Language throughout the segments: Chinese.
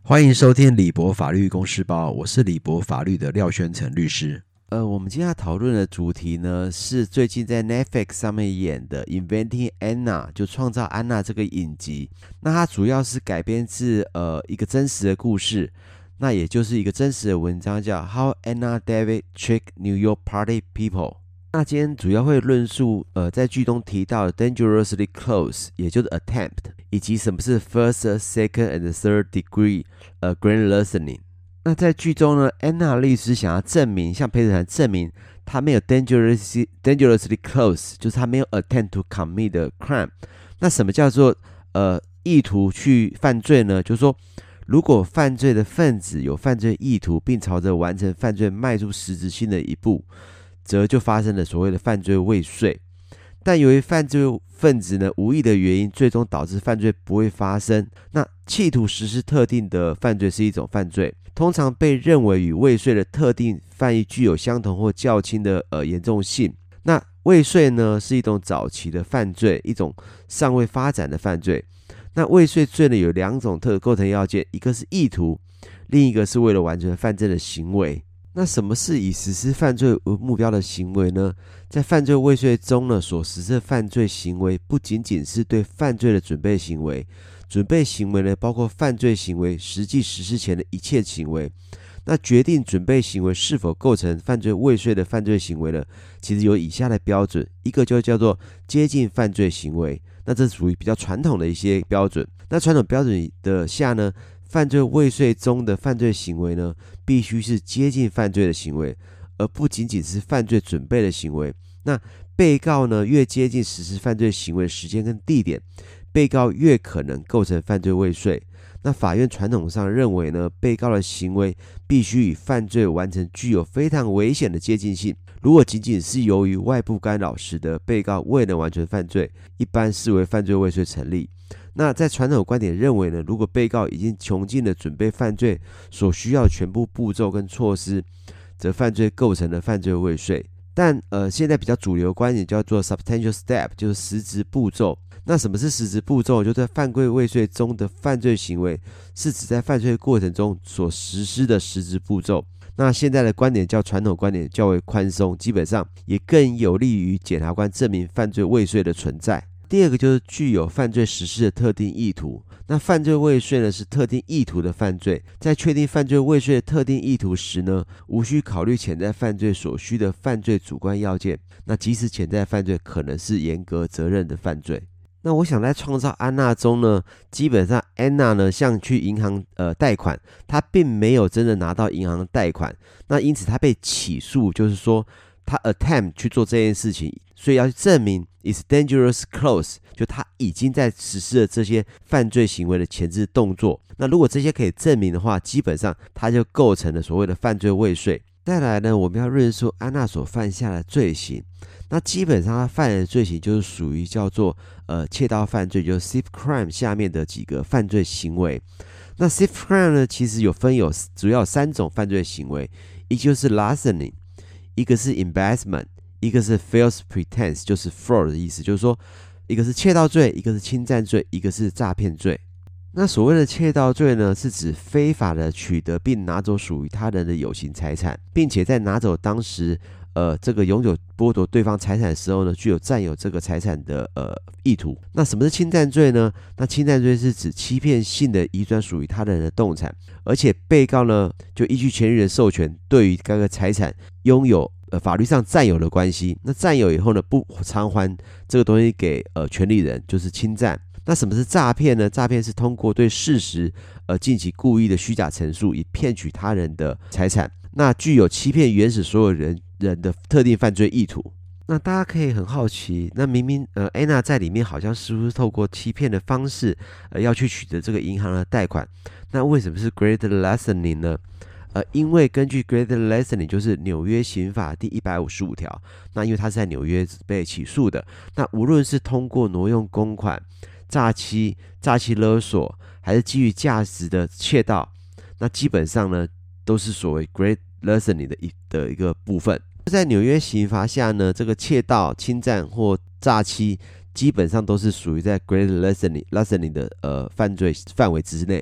歡迎收聽李博法律公事包，我是李博法律的廖宣成律師。我們今天要討論的主題呢，是最近在 Netflix 上面演的 Inventing Anna， 就創造安娜這個影集。那它主要是改編自一個真實的故事，那也就是一個真實的文章，叫 How Anna David Tricked New York Party People。那今天主要會論述在劇中提到的 dangerously close， 也就是 attempt， 以及什麼是 first、second and third degree grand larceny。那在劇中呢，安娜律師想要證明，向陪审团證明他沒有 dangerously close， 就是他沒有 attempt to commit the crime。那什麼叫做意圖去犯罪呢？就是說，如果犯罪的分子有犯罪意圖，並朝着完成犯罪邁出實質性的一步，則就發生了所謂的犯罪未遂。但由於犯罪分子呢無意的原因，最終導致犯罪不會發生。那企圖實施特定的犯罪是一種犯罪，通常被認為與未遂的特定犯意具有相同或較輕的嚴重性。那未遂呢是一種早期的犯罪，一種尚未發展的犯罪。那未遂罪呢有两種構成要件，一個是意圖，另一個是為了完成犯罪的行為。那什麼是以實施犯罪為目標的行為呢？在犯罪未遂中呢，所實施的犯罪行為不僅僅是對犯罪的準備行為，準備行為呢包括犯罪行為實際實施前的一切行為。那決定準備行為是否構成犯罪未遂的犯罪行為呢，其實有以下的標準，一個就叫做接近犯罪行為，那這屬於比較傳統的一些標準。那傳統標準的下呢，犯罪未遂中的犯罪行為呢，必須是接近犯罪的行為，而不僅僅是犯罪準備的行為。那被告呢，越接近實施犯罪行為的時間跟地點，被告越可能構成犯罪未遂。那法院傳統上認為呢，被告的行為必須與犯罪完成具有非常危險的接近性。如果僅僅是由於外部干擾使得被告未能完成犯罪，一般視為犯罪未遂成立。那在傳統觀點認為呢，如果被告已經窮盡了準備犯罪所需要的全部步驟跟措施，則犯罪構成了犯罪未遂。但現在比較主流的觀點叫做 substantial step， 就是實質步驟。那什麼是實質步驟？就在犯罪未遂中的犯罪行為，是指在犯罪過程中所實施的實質步驟。那現在的觀點較傳統觀點較為寬鬆，基本上也更有利於檢察官證明犯罪未遂的存在。第二個就是具有犯罪實施的特定意圖。那犯罪未遂呢是特定意圖的犯罪，在確定犯罪未遂的特定意圖時呢，無需考慮潛在犯罪所需的犯罪主觀要件。那即使潛在犯罪可能是嚴格責任的犯罪。那我想在創造安娜中呢，基本上安娜呢像去銀行貸款，她並沒有真的拿到銀行的貸款，那因此她被起訴，就是說她 attempt 去做这件事情，所以要去證明 is dangerous close， 就他已經在實施了這些犯罪行為的前置動作。那如果這些可以證明的話，基本上他就構成了所謂的犯罪未遂。再來呢，我們要論述安娜所犯下的罪行。那基本上他犯的罪行就是屬於叫做竊盜犯罪，就是 thief crime 下面的幾個犯罪行為。那 thief crime 呢，其實主要有三種犯罪行為，一就是 larceny， 一個是 embezzlement， 一個是 false pretense， 就是 fraud 的意思，就是說一個是竊盜罪，一個是侵占罪，一個是詐騙罪。那所謂的竊盜罪呢，是指非法的取得並拿走屬於他人的有形財產，並且在拿走當時這個擁有剝奪對方財產的時候呢，具有占有這個財產的意圖。那什麼是侵占罪呢？那侵占罪是指欺騙性的移轉屬於他人的動產，而且被告呢就依據權利人授權，對於該個財產擁有法律上占有的關係。那占有以後呢，不償還這個東西給權利人，就是侵占。那什麼是詐騙呢？詐騙是通過對事實進行故意的虛假陳述，以騙取他人的財產，那具有欺騙原始所有人的特定犯罪意圖。那大家可以很好奇，那明明安娜在裡面好像是不是透过欺騙的方式要去取得這個銀行的貸款，那為什麼是 great larceny 呢？因為根據 great larceny 就是紐約刑法第155條，那因為他是在紐約被起訴的，那無論是通過挪用公款、詐欺勒索，還是基於價值的竊盜，那基本上呢都是所謂 great larceny 的一個部分。在紐約刑罰下呢，這個竊盜、侵占或詐欺基本上都是屬於在 great larceny 的犯罪範圍之內。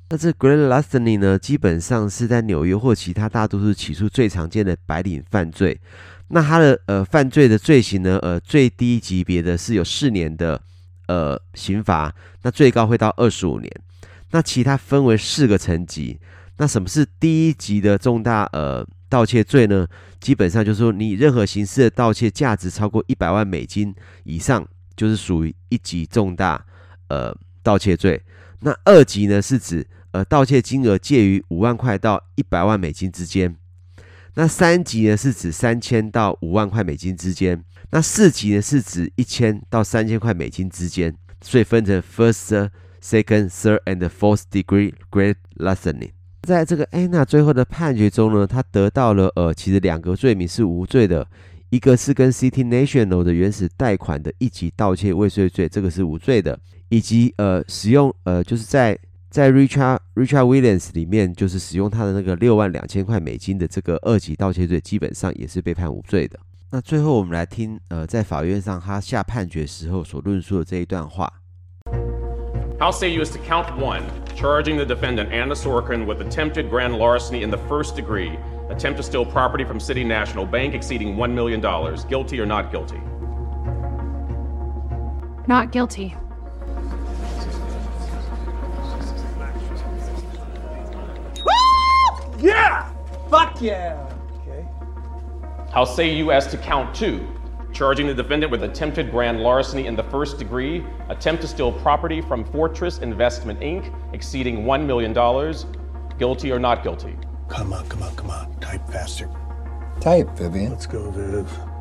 那這 Great Larceny 呢，基本上是在紐約或其他大都市起訴最常見的白領犯罪。那他的犯罪的罪行呢，最低級別的是有4年的刑罰，那最高會到25年。那其他分為4個層級。那什麼是第一級的重大盜竊罪呢？基本上就是說，你任何形式的盜竊價值超過100萬美金以上，就是屬於1級重大盜竊罪。那2級呢，是指盜竊金額介於5萬塊到100萬美金之間。那3級呢，是指3000到5萬塊美金之間。那4級呢，是指1000到3000塊美金之間。所以分成 first、second、third and fourth degree Great Larceny。在这個 Anna 最後的判決中呢，他得到了其實2個罪名是無罪的，一個是跟 City National 的原始貸款的1級盜竊未遂罪，這個是無罪的，以及使用就是在 Richard Williams 裡面就是使用他的那個6萬2000塊美金的這個2級盜竊罪，基本上也是被判無罪的。那最後我們來聽在法院上他下判決時候所論述的這一段話。 How say you as to count 1, charging the defendant Anna Sorokin with attempted grand larceny in the first degree, attempt to steal property from City National Bank exceeding $1 million, guilty or not guilty? Not guilty. Woo! Yeah! Fuck yeah! Okay. How say you as to count 2, charging the defendant with attempted grand larceny in the first degree, attempt to steal property from Fortress Investment Inc. exceeding $1 million, guilty or not guilty? Come on. Type faster. Type, Vivian. Let's go, Viv.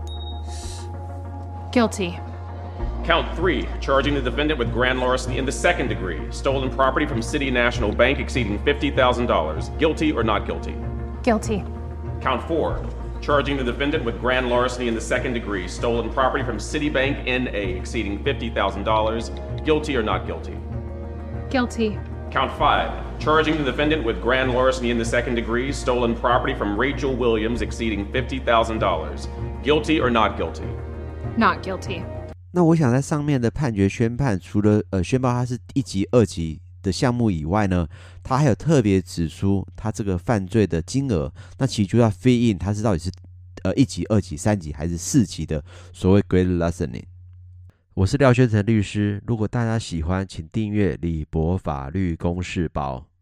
Guilty. Count 3, charging the defendant with grand larceny in the second degree, stolen property from City National Bank exceeding $50,000, guilty or not guilty? Guilty. Count 4, charging the defendant with grand larceny in the second degree, stolen property from Citibank N.A. exceeding $50,000, guilty or not guilty? Guilty. Count 5, charging the defendant with grand larceny in the second degree, stolen property from Rachel Williams exceeding $50,000, guilty or not guilty? Not guilty. 那我想在上面的判決宣判，除了宣告它是1級、2級的項目以外呢，他還有特別指出他這個犯罪的金額，那其實就要 fit in 它是到底是1級、2級、3級還是4級的所謂 Great Larceny。我是廖宣成律師，如果大家喜歡，請訂閱李博法律公事包。